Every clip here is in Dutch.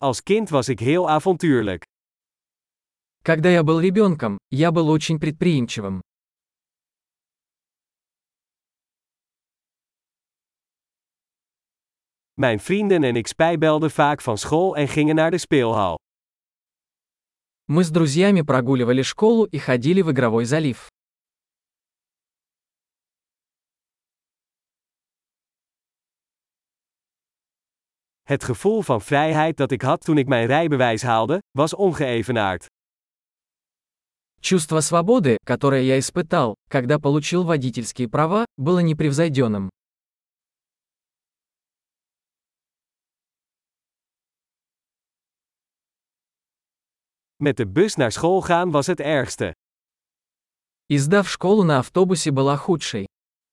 Als kind was ik heel avontuurlijk. Когда я был ребенком, я был очень предприимчивым. Mijn vrienden en ik spijbelden vaak van school en gingen naar de speelhal. Мы с друзьями прогуливали школу и ходили в игровой залив. Het gevoel van vrijheid dat ik had toen ik mijn rijbewijs haalde, was ongeëvenaard. Чувство свободы, которое я испытал, когда получил водительские права, было непревзойденным. Met de bus naar school gaan was het ergste. Езда в школу на автобусе была худшей.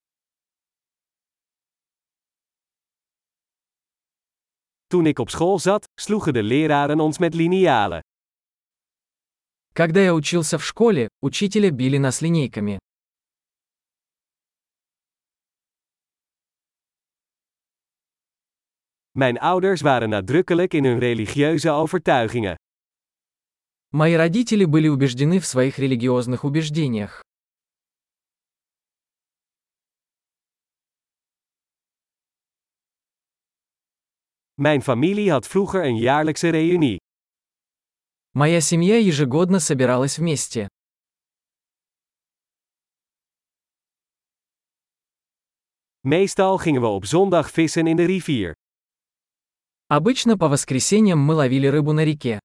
Toen ik op school zat, sloegen de leraren ons met linialen. Когда я учился в школе, учителя били нас линейками. Mijn ouders waren nadrukkelijk in hun religieuze overtuigingen. Мои родители были убеждены в своих религиозных убеждениях. Mijn familie had vroeger een jaarlijkse reunie. Моя семья ежегодно собиралась вместе. Meestal gingen we op zondag vissen in de rivier. Обычно по воскресеньям мы ловили рыбу на реке.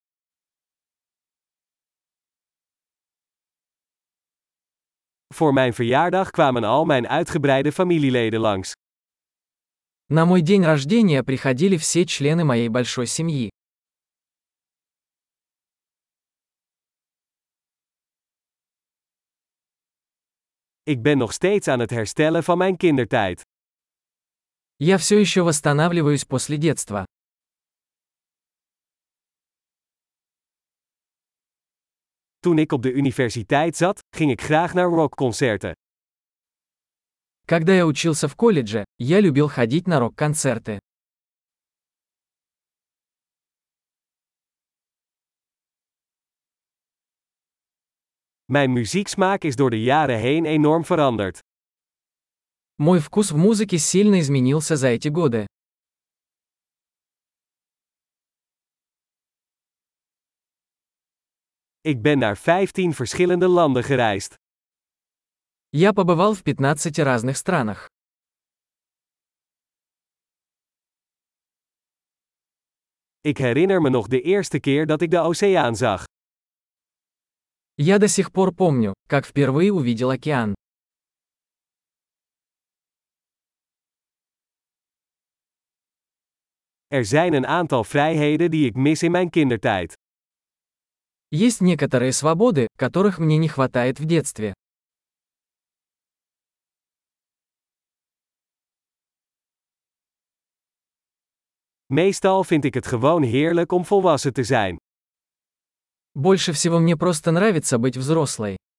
Voor mijn verjaardag kwamen al mijn uitgebreide familieleden langs. На мой день рождения приходили все члены моей большой семьи. Ik ben nog steeds aan het herstellen van mijn kindertijd. Я все еще восстанавливаюсь после детства. Toen ik op de universiteit zat, ging ik graag naar rockconcerten. Когда я учился в колледже, я любил ходить на рок-концерты. Mijn muzieksmaak is door de jaren heen enorm veranderd. Мой вкус в музыке сильно изменился за эти годы. Ik ben naar 15 verschillende landen gereisd. Я побывал в 15 разных странах. Ik herinner me nog de eerste keer dat ik de oceaan zag. Я до сих пор помню, как впервые увидел океан. Er zijn een aantal vrijheden die ik mis in mijn kindertijd. Есть некоторые свободы, которых мне не хватает в детстве. Meestal vind ik het gewoon heerlijk om volwassen te zijn. Больше всего мне просто нравится быть взрослой.